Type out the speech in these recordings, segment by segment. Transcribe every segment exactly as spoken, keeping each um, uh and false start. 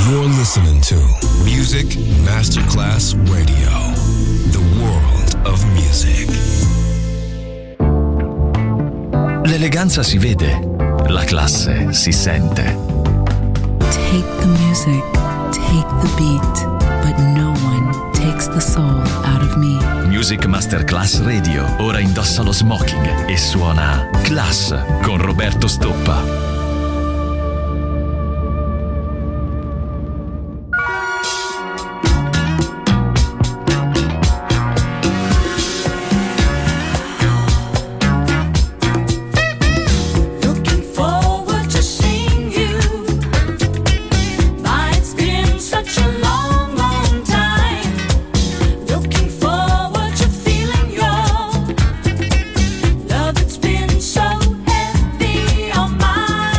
You're listening to Music Masterclass Radio, the world of music. L'eleganza si vede, la classe si sente. Take the music, take the beat, but no one takes the soul out of me. Music Masterclass Radio ora indossa lo smoking e suona Class con Roberto Stoppa. Love, it's been so heavy on my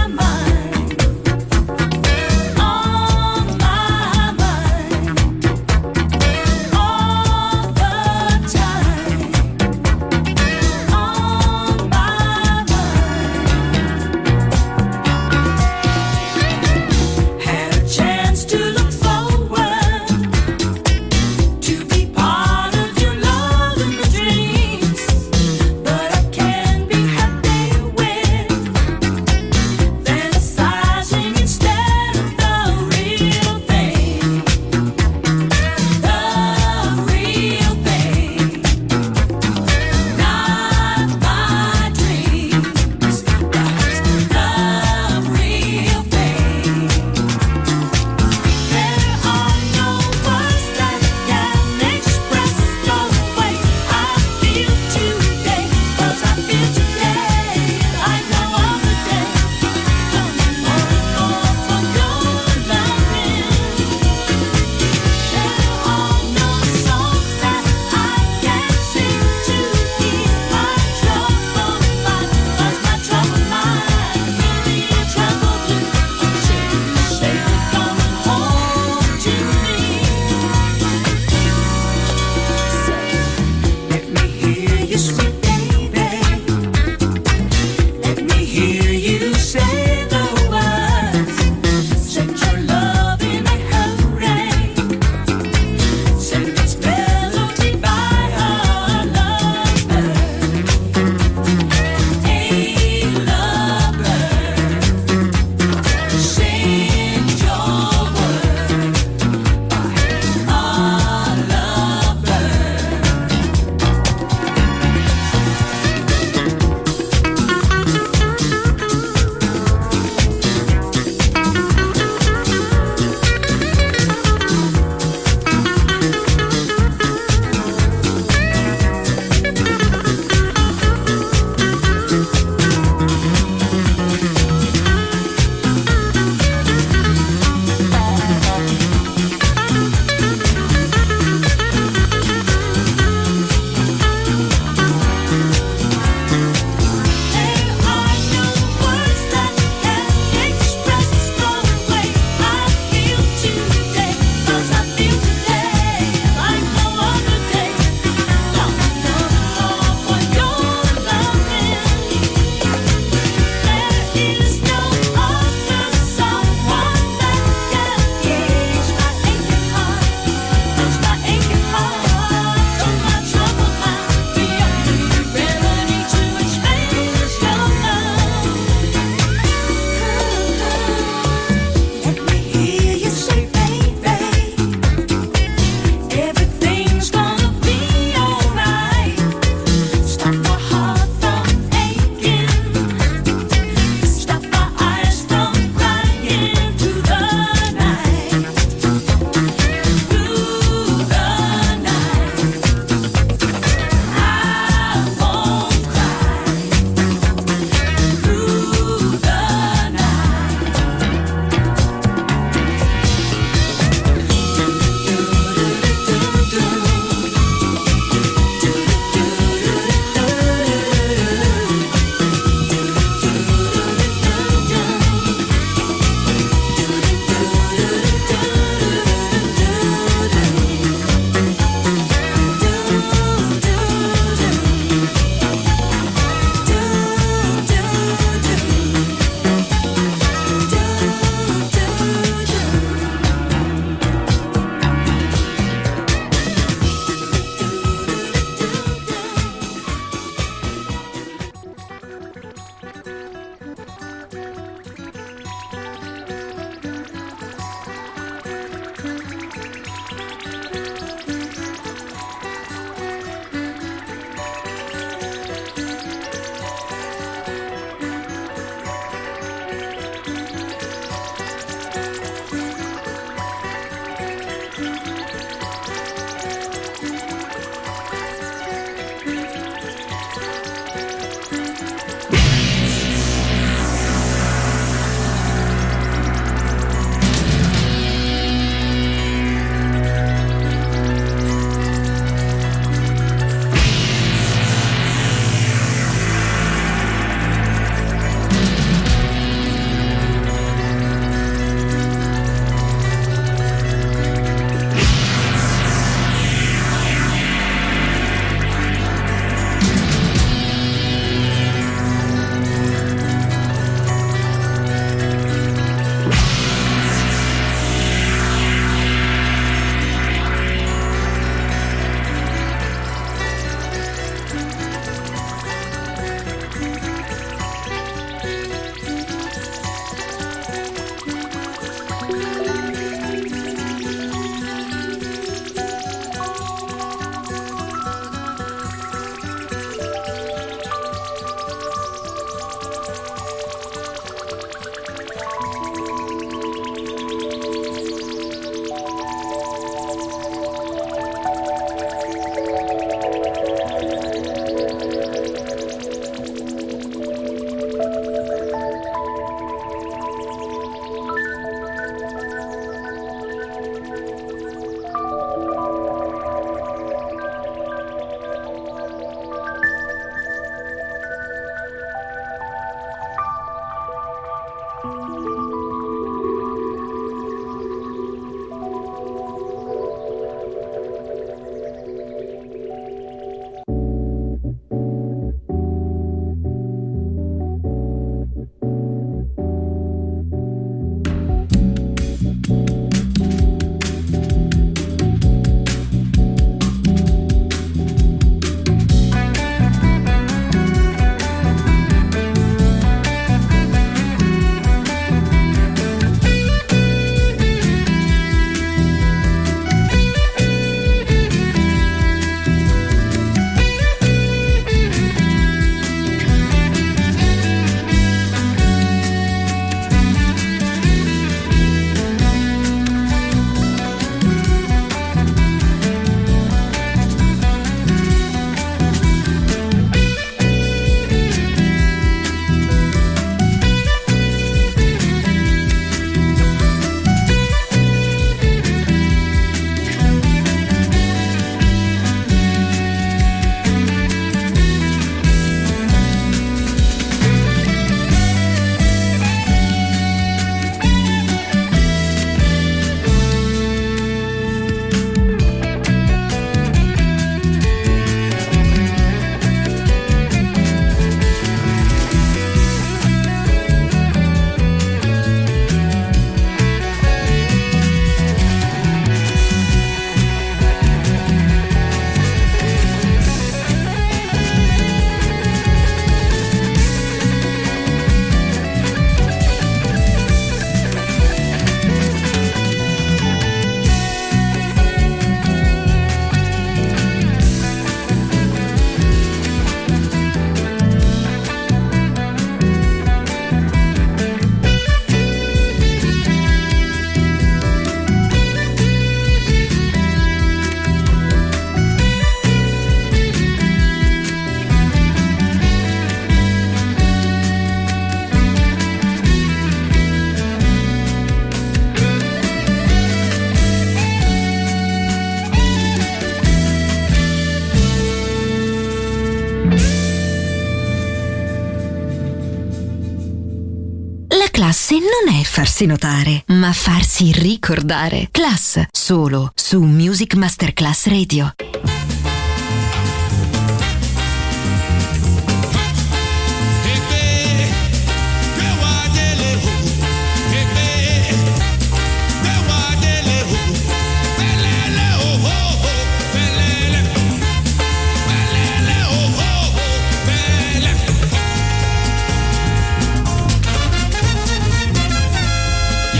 Forse non è farsi notare, ma farsi ricordare. Class, solo su Music Masterclass Radio.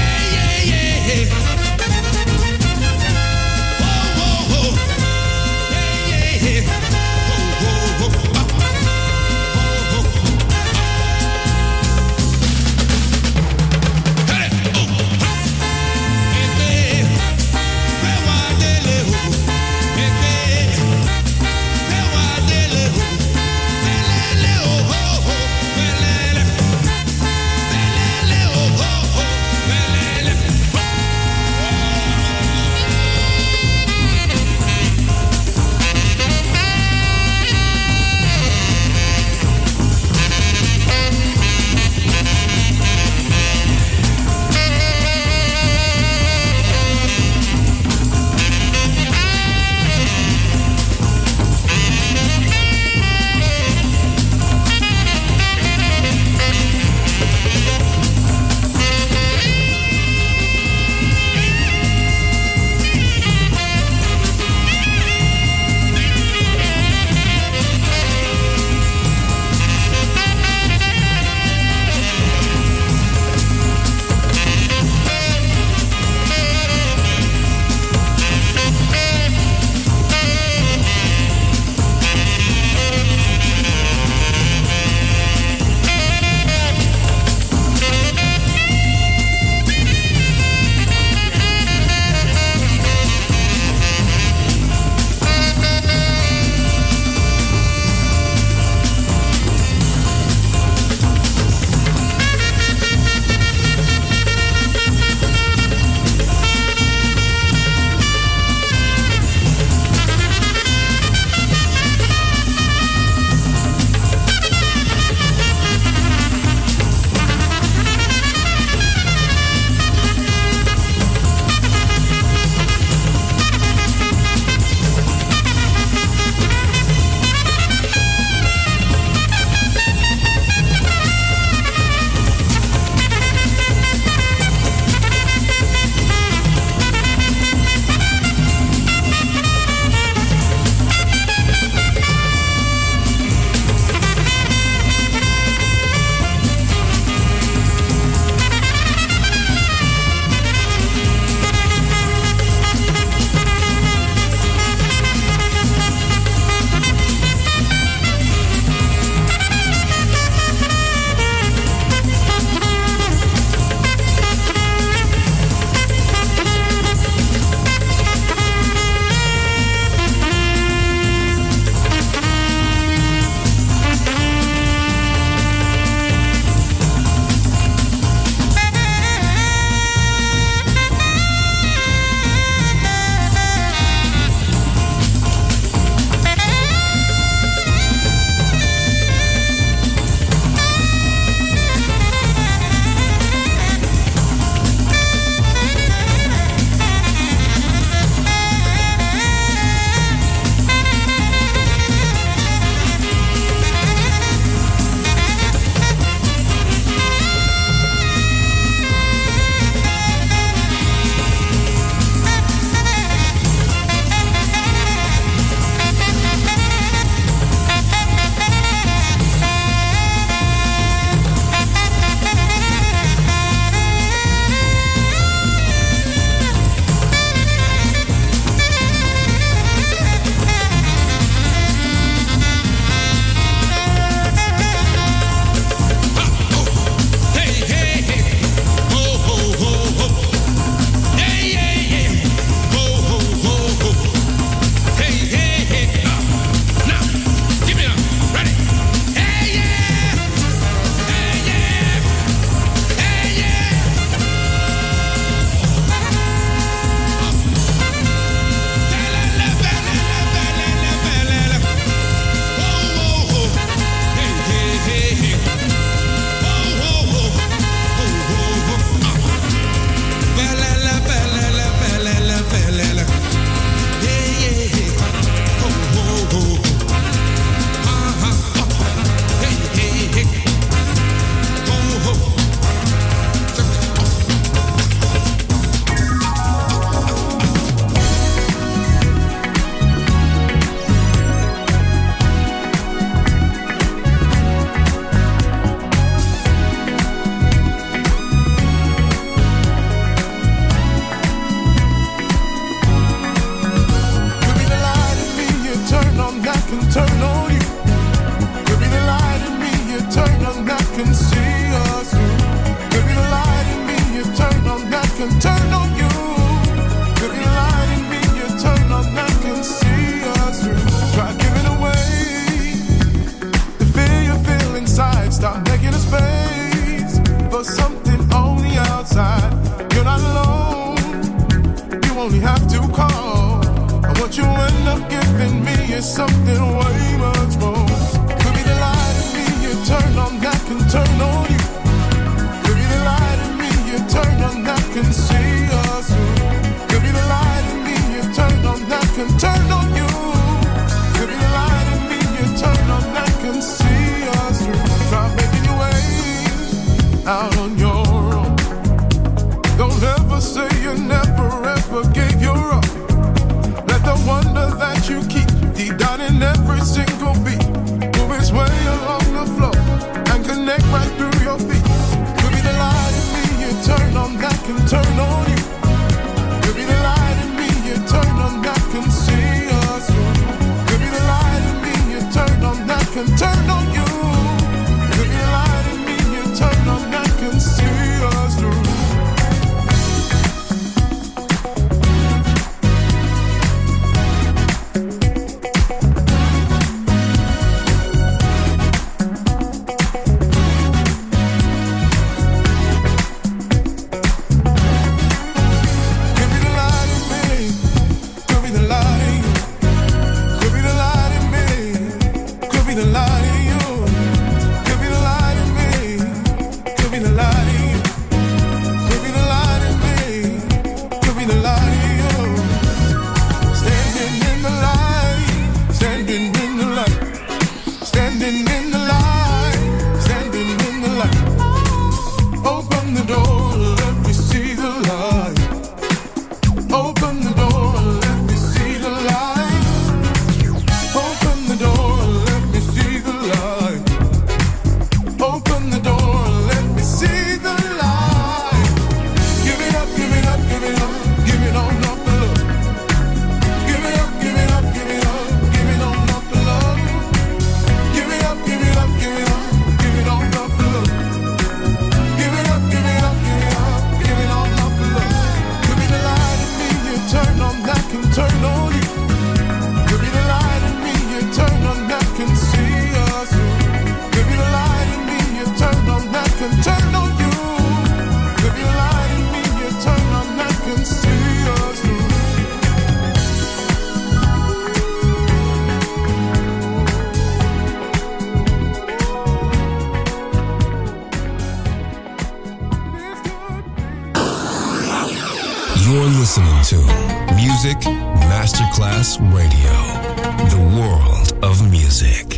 Yeah. can turn on you. Could be light in me, you turn on that can see us through. Try giving away the fear you feel inside. Stop making a space for something on the outside. You're not alone, you only have to call. And what you end up giving me is something way much more. Could be the light in me, you turn on that can turn on you. Could be the light in me, you turn on that can see us through. Could be the light in me, you turn on that can turn on you. Could be the light in me, you turn on that can see us through. Try making your way out on your own. Don't ever say you never ever gave your all. Let the wonder that you keep deep down in every single beat move its way along the floor and connect right through your feet. Could be the light in me, you turn on that can turn on you. Could be the light in me, you turn on that can see us through. Could be the light in me, you turn on that can turn on you. Could be the light in me, you turn on that can see us through. You're listening to Music Masterclass Radio, the world of music.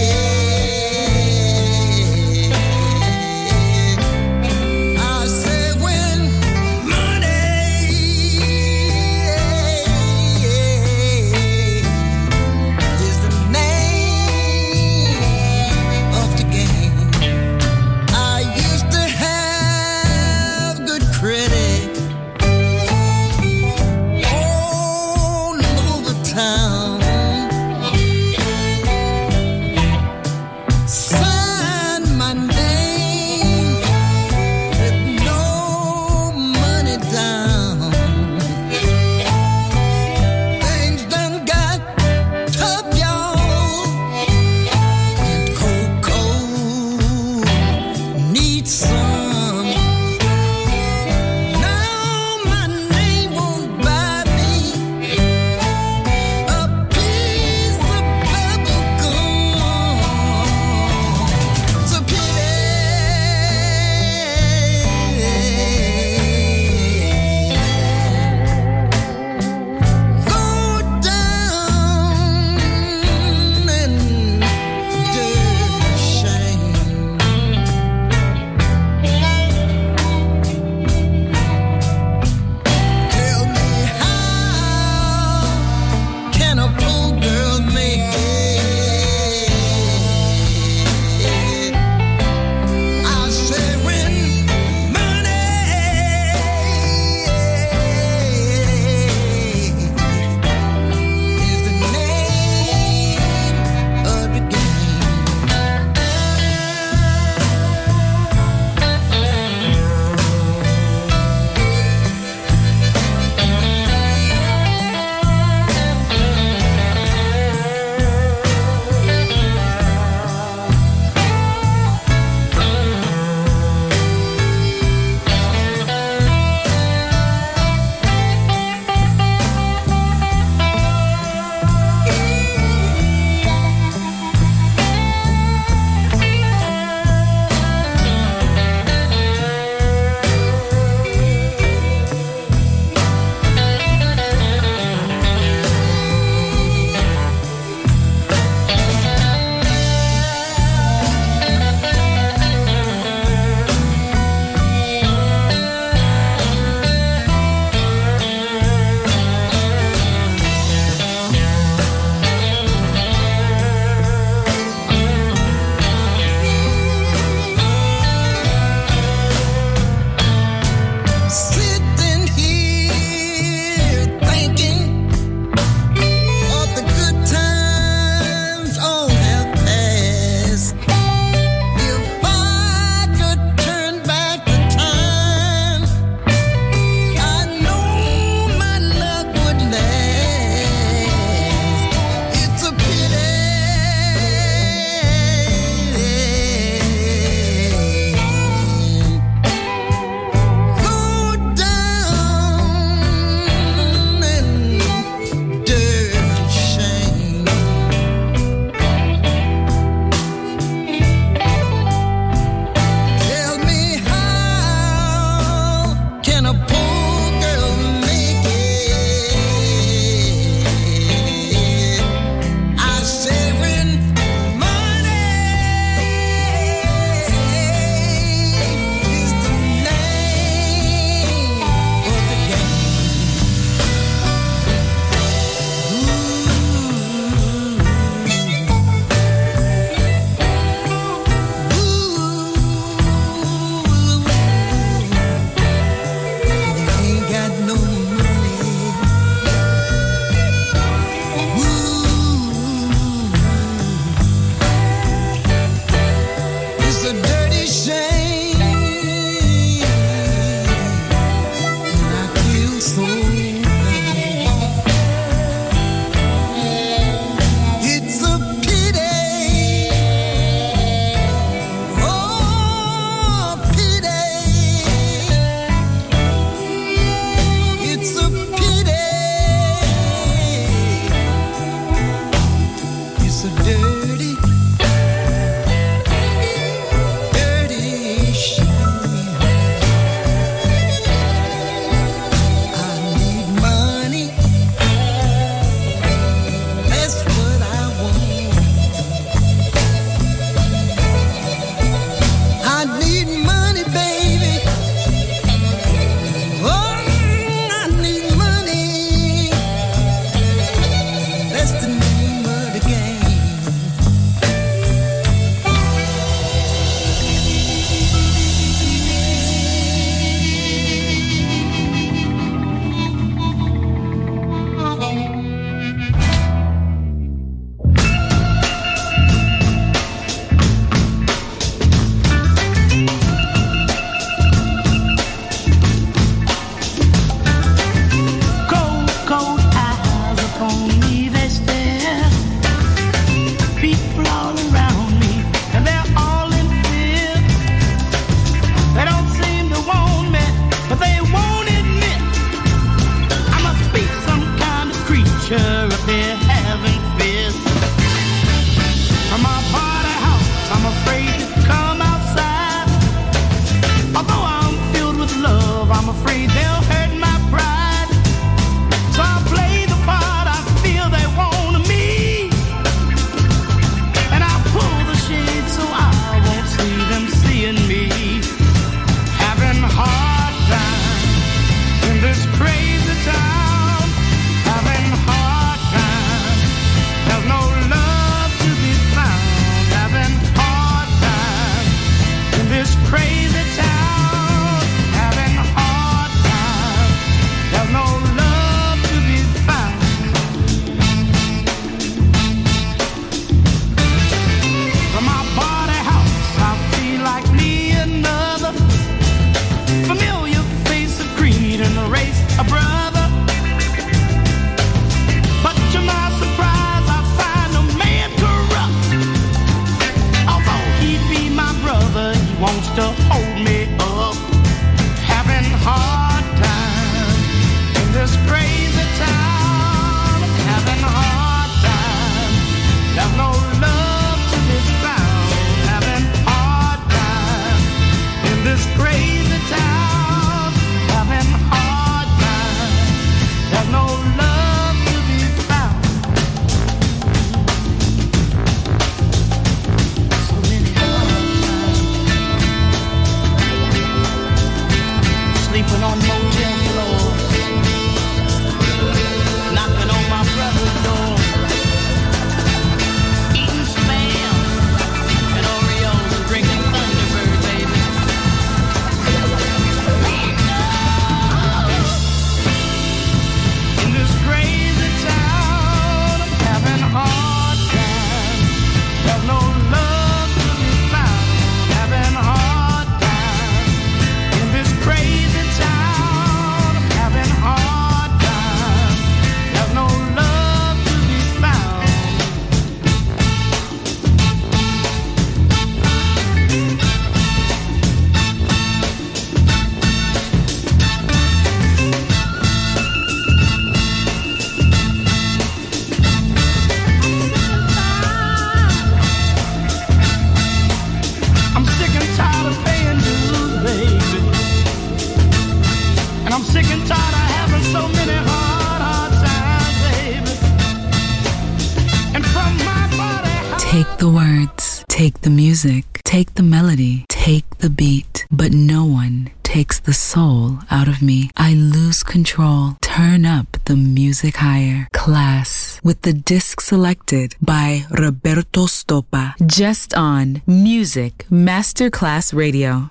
I said Jumping on motel floors, knocking on my brother's door, eating spam and Oreos and drinking Thunderbird, baby. In this crazy town, I'm having a hard time. There's no love to be found. Having a hard time. In this crazy town, I'm having a hard time. There's no love to be found. I'm sick and tired of paying dues, baby. And I'm sick and tired of having so many hard, hard times, baby. And from my body, Take the words, take the music, take the melody, take the beat, but no one takes the soul out of me. I lose control. Turn up the music higher. Class with the disc selected by Roberto Stoppa. Just on Music Masterclass Radio.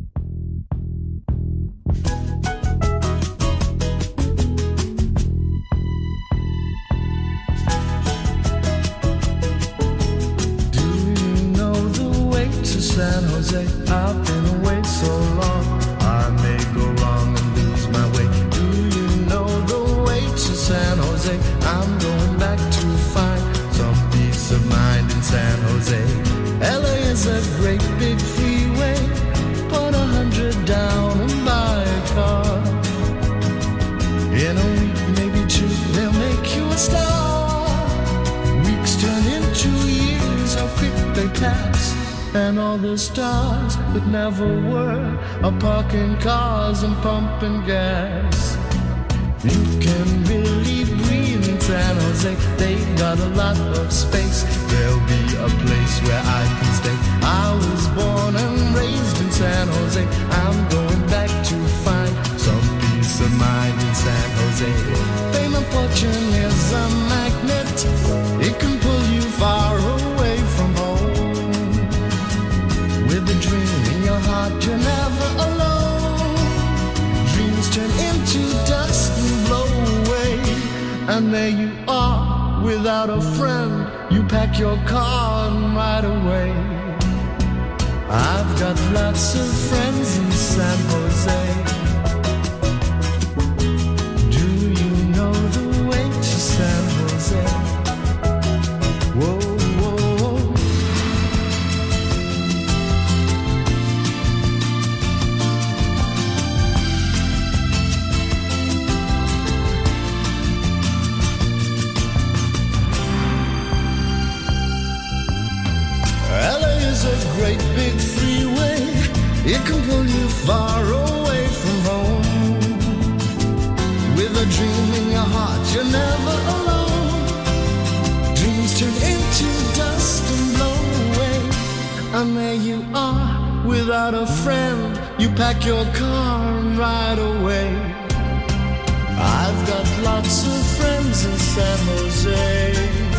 Do you know the way to San Jose? I've been away so long, I may go wrong and lose my way. Do you know the way to San Jose? I'm going back to find some peace of mind in San Jose. L A is a great big freeway. Put a hundred down and buy a car. In a week, maybe two, they'll make you a star. Weeks turn into years, how quick they pass. And all the stars that never were are parking cars and pumping gas. You can really breathe in San Jose. They've got a lot of space. There'll be a place where I can stay. I was born and raised in San Jose. I'm going back to find some peace of mind in San Jose. Fame and fortune is a magnet. It can pull you far away from home. With a dream in your heart, you're never alone. Dreams turn into dust and blow away. And there you are, without a friend. You pack your car and ride away. I've got lots of friends in San Jose. Do you know the way to San Jose? Whoa, whoa, whoa. L A is a great big freeway. It can pull you far away from home. With a dream in your heart, you're never alone. Dreams turn into dust and blow away. And there you are, without a friend. You pack your car and ride away. I've got lots of friends in San Jose.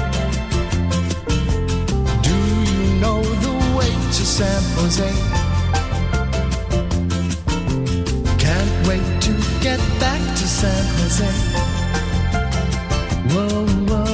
Do you know the way to San Jose? Can't wait to get back to San Jose. Whoa, whoa.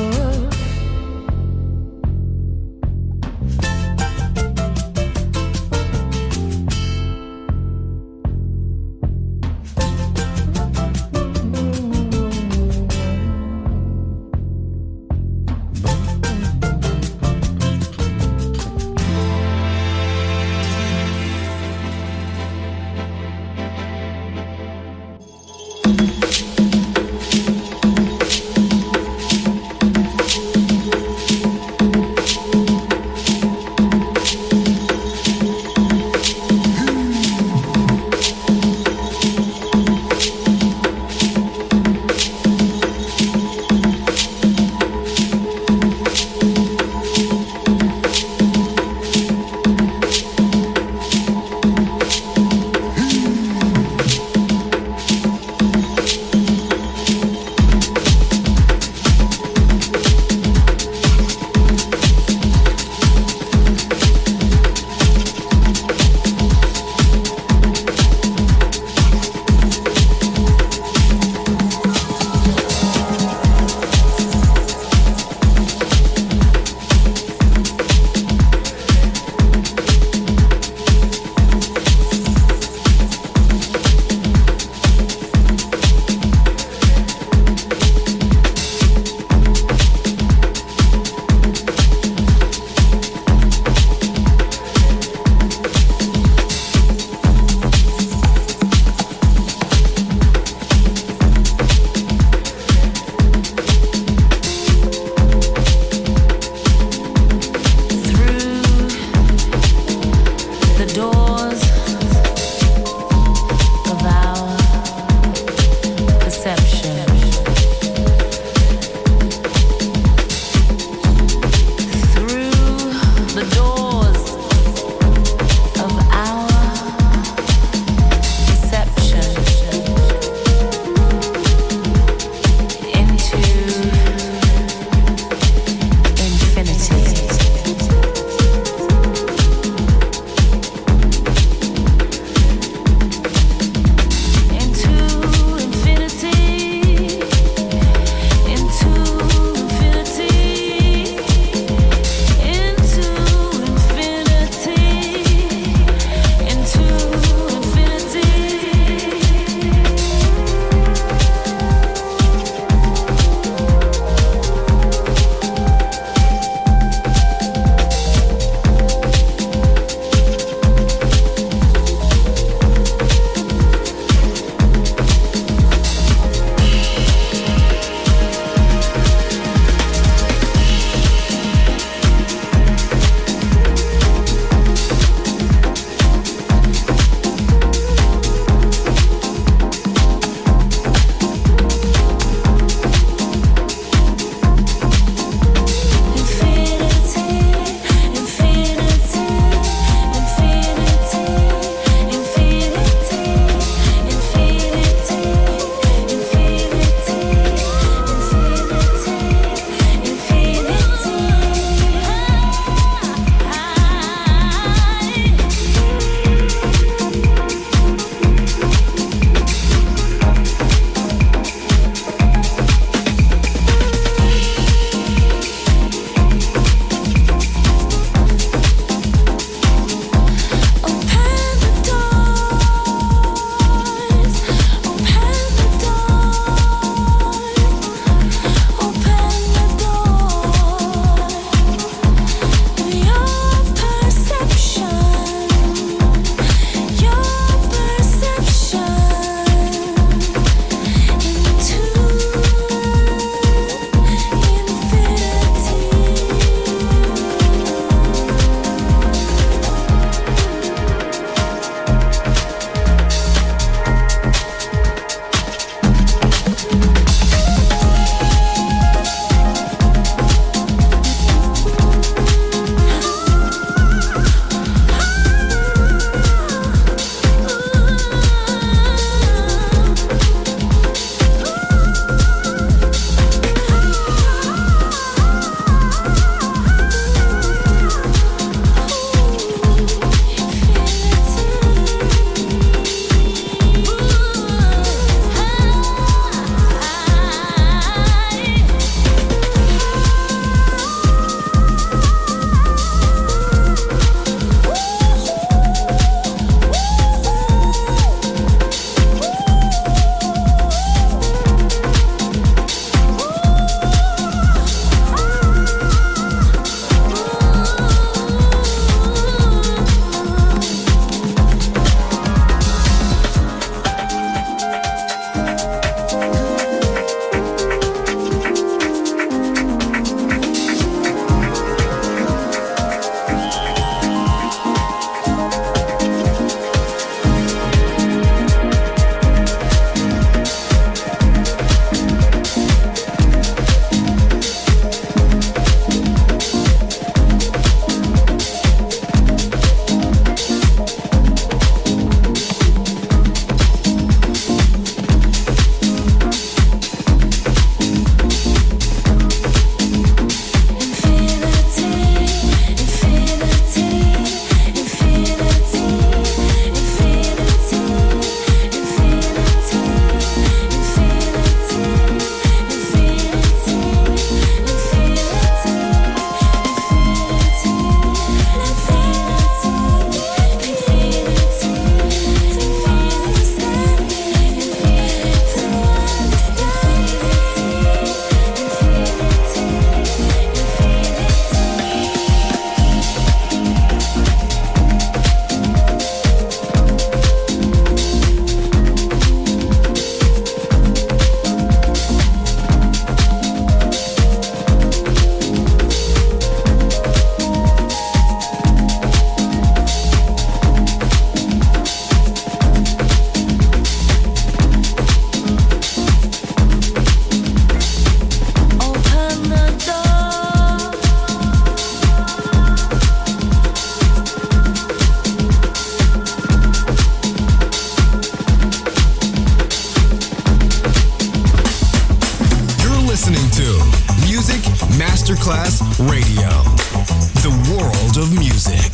Masterclass Radio, the world of music.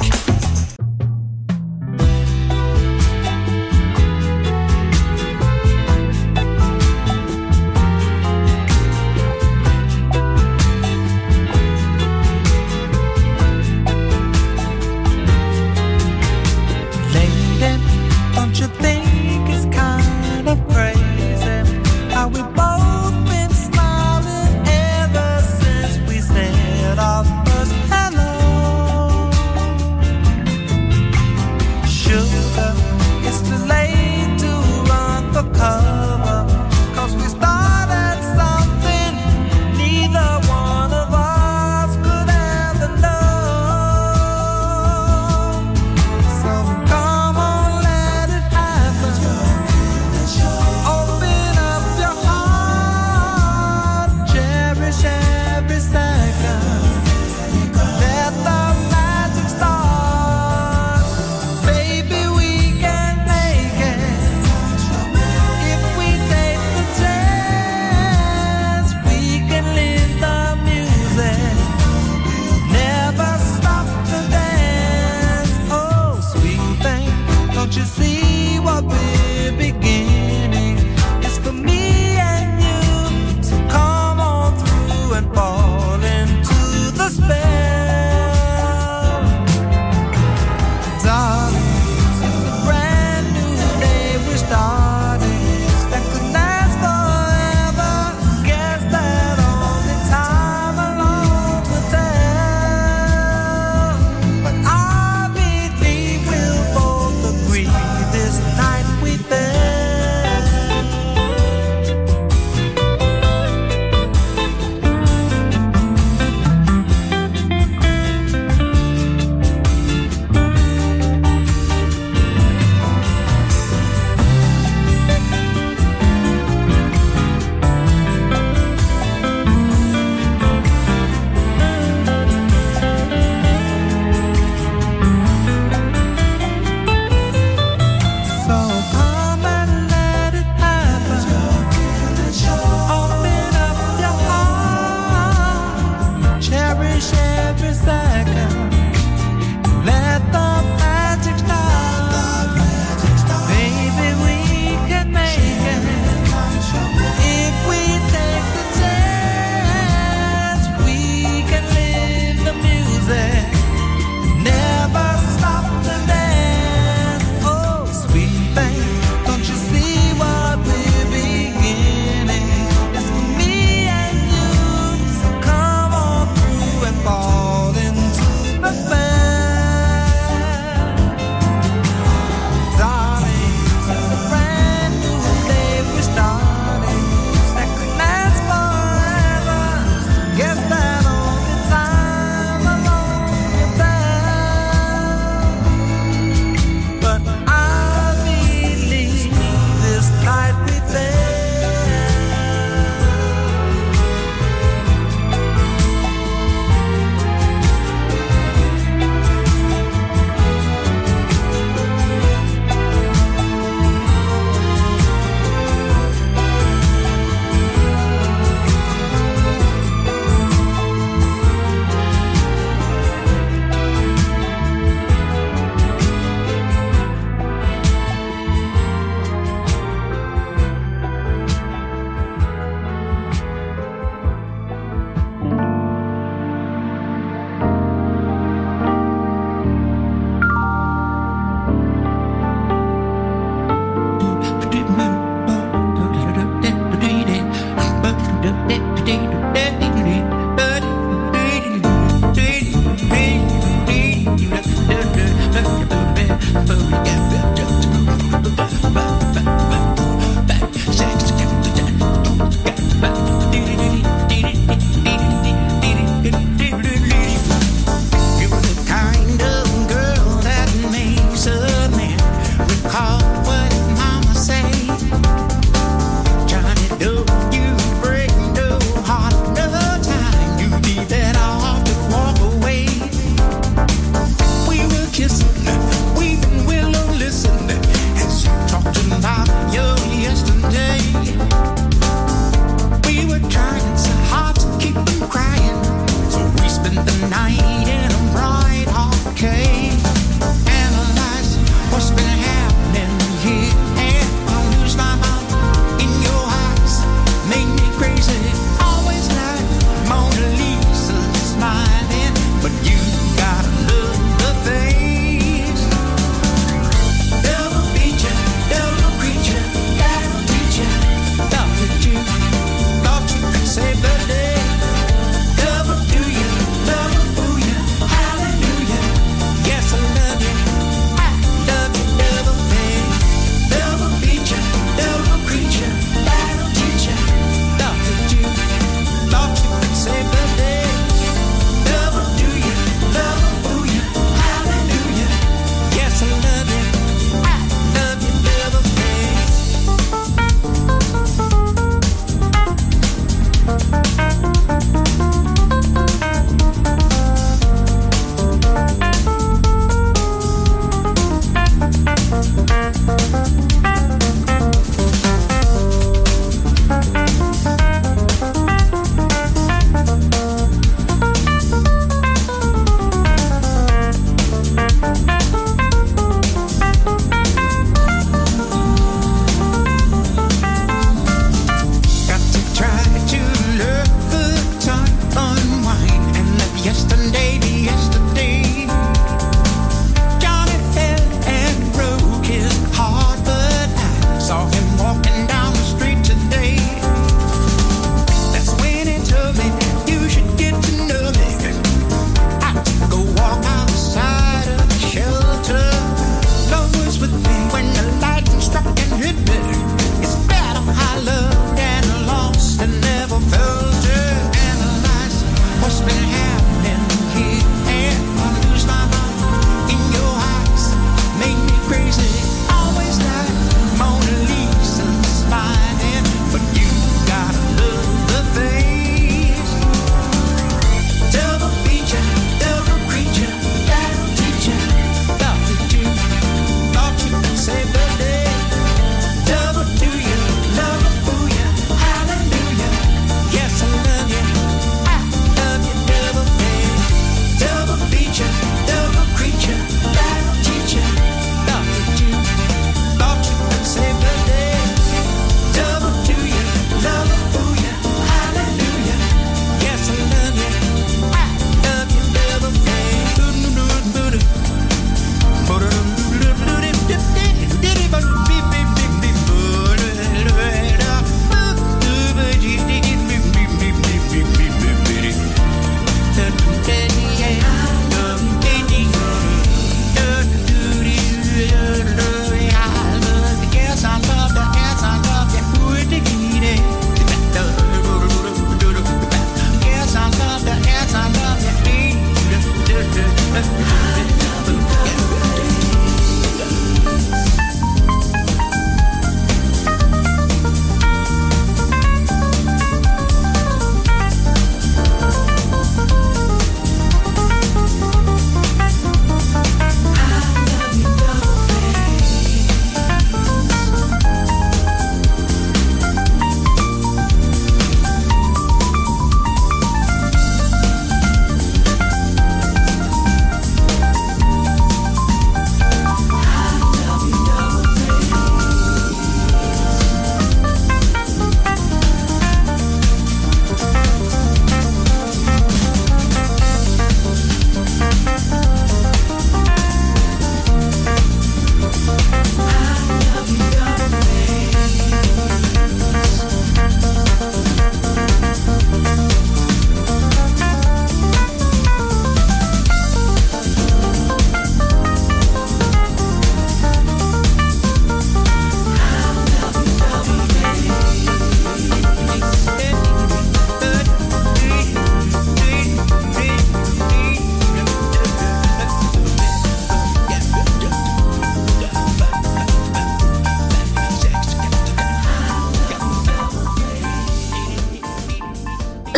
Our first hello.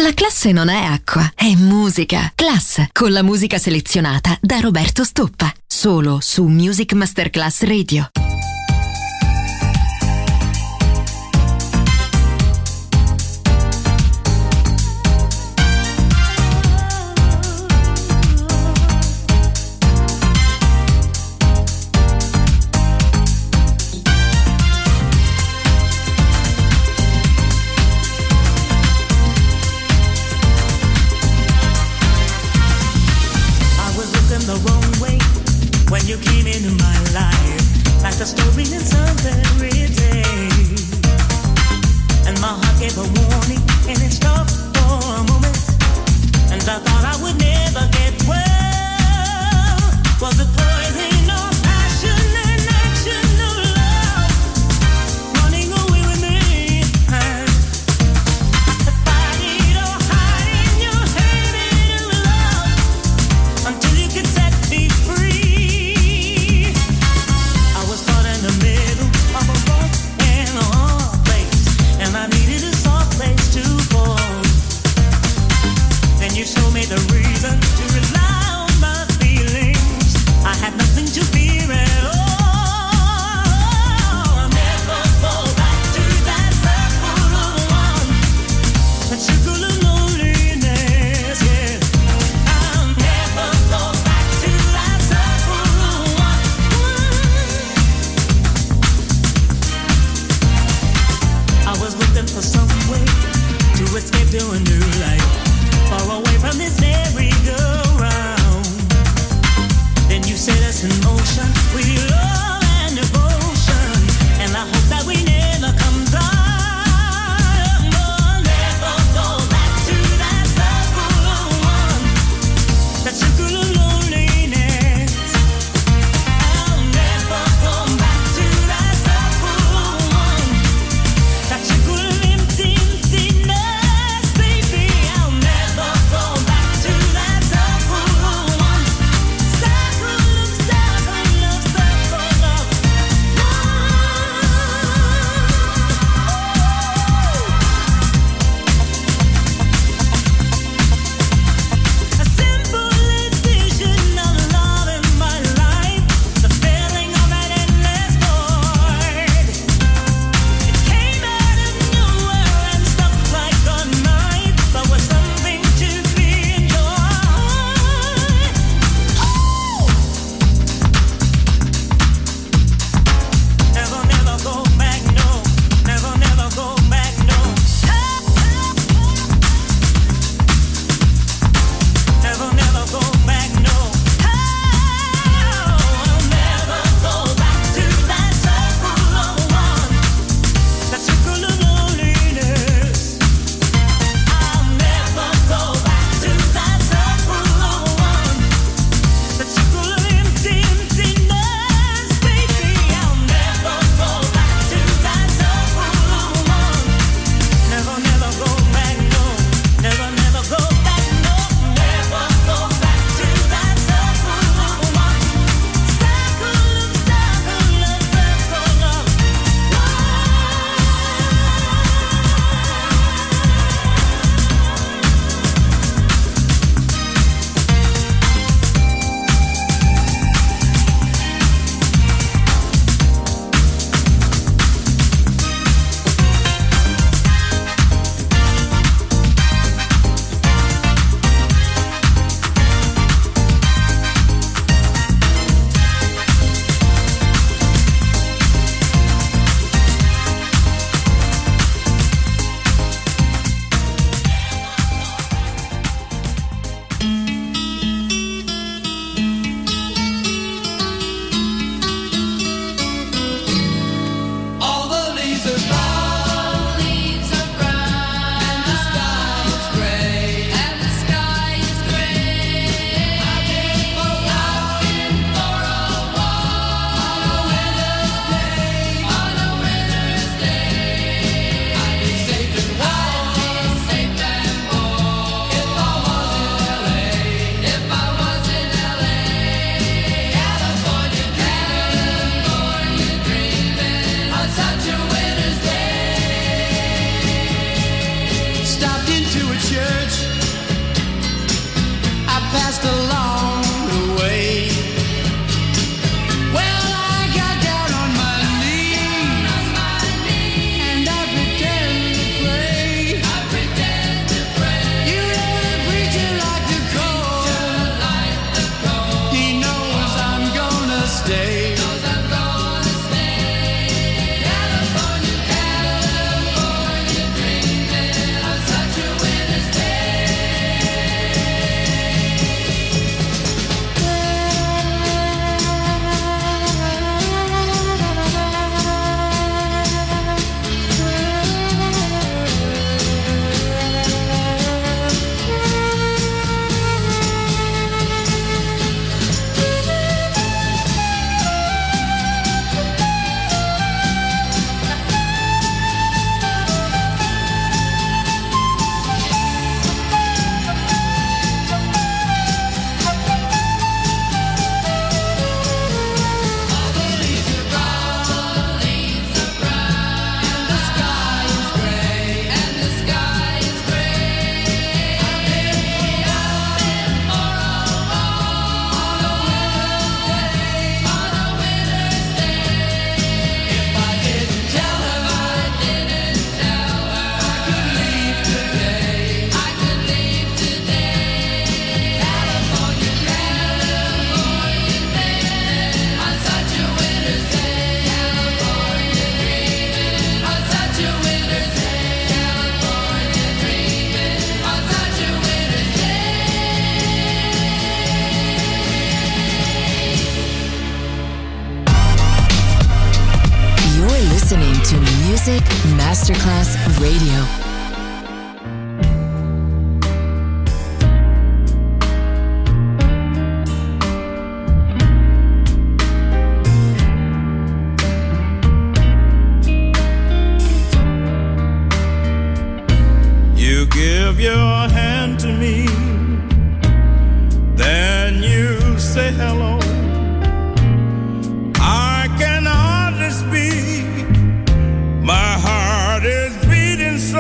La classe non è acqua, è musica. Class, con la musica selezionata da Roberto Stoppa. Solo su Music Masterclass Radio. The wrong way when you came into my life, like a story in some fairy tale. And my heart gave a warning, and it stopped for a moment. And I thought I would never get well. Was it poison or passion and action of love running away with me? I could fight it or hide in your hated love until you could set me free. I was caught in the middle of a rock and a hard place, and I needed a soft place to fall. Then you showed me the reason to rely on my feelings. I had nothing to fear at all. I'll never go back to that circle of one, that circle of loneliness, yeah. I'll never go back to that circle of one. I was looking for some way to escape to a new life, far away from this merry-go-round. Then you set us in motion with your love and devotion, and I hope that we never come down. No, never go back to that circle of one, that circle of loneliness. I'll never go back to that circle of one, that circle of empty, emptiness, baby. passed along the way. Well, I got down on my knees, and I pretend to pray. I pretend to pray. You know the preacher like the cold. He knows I'm gonna stay. Music Masterclass Radio. You give your hand to me, then you say hello. I can hardly speak. My heart is beating so,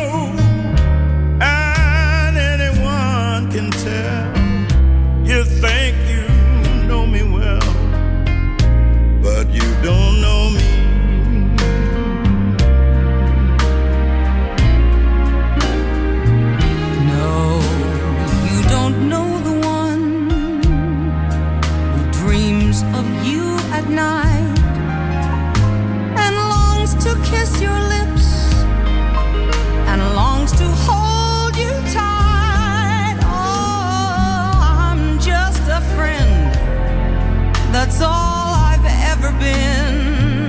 and anyone can tell. You think you know me well, but you don't know me. No, you don't know the one who dreams of you at night to kiss your lips and longs to hold you tight. Oh, I'm just a friend. That's all I've ever been.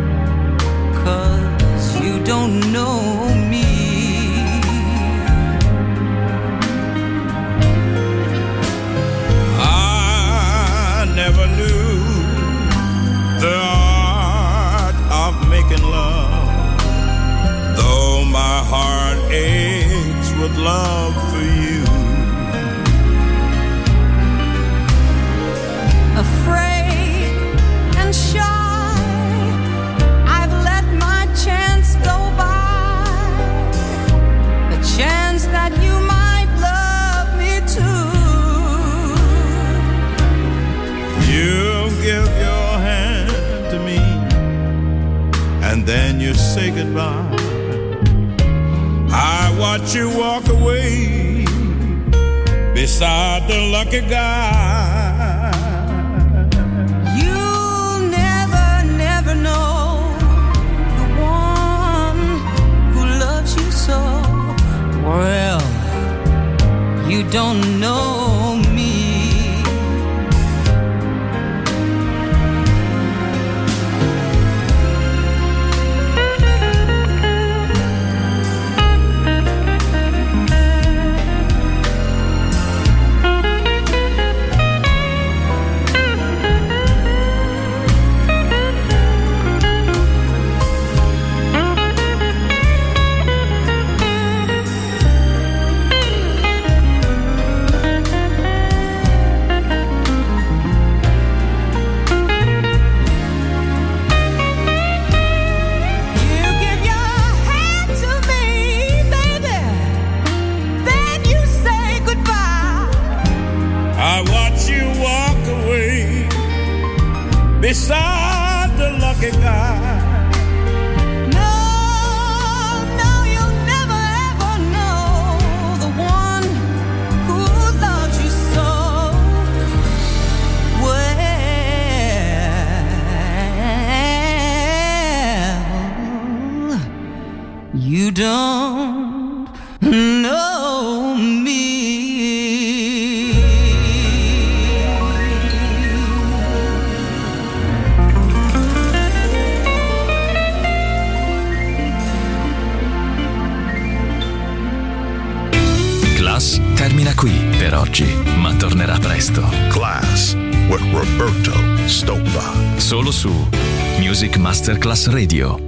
'Cause you don't know me. I never knew the making love, though my heart aches with love for you. Afraid and shy, I've let my chance go by, the chance that you might love me too. You give your hand to me, and then you say goodbye. I watch you walk away beside the lucky guy. You'll never, never know the one who loves you so. Well, you don't know me. You don't know me. Class termina qui per oggi, ma tornerà presto. Class with Roberto Stoppa. Solo su Music Masterclass Radio.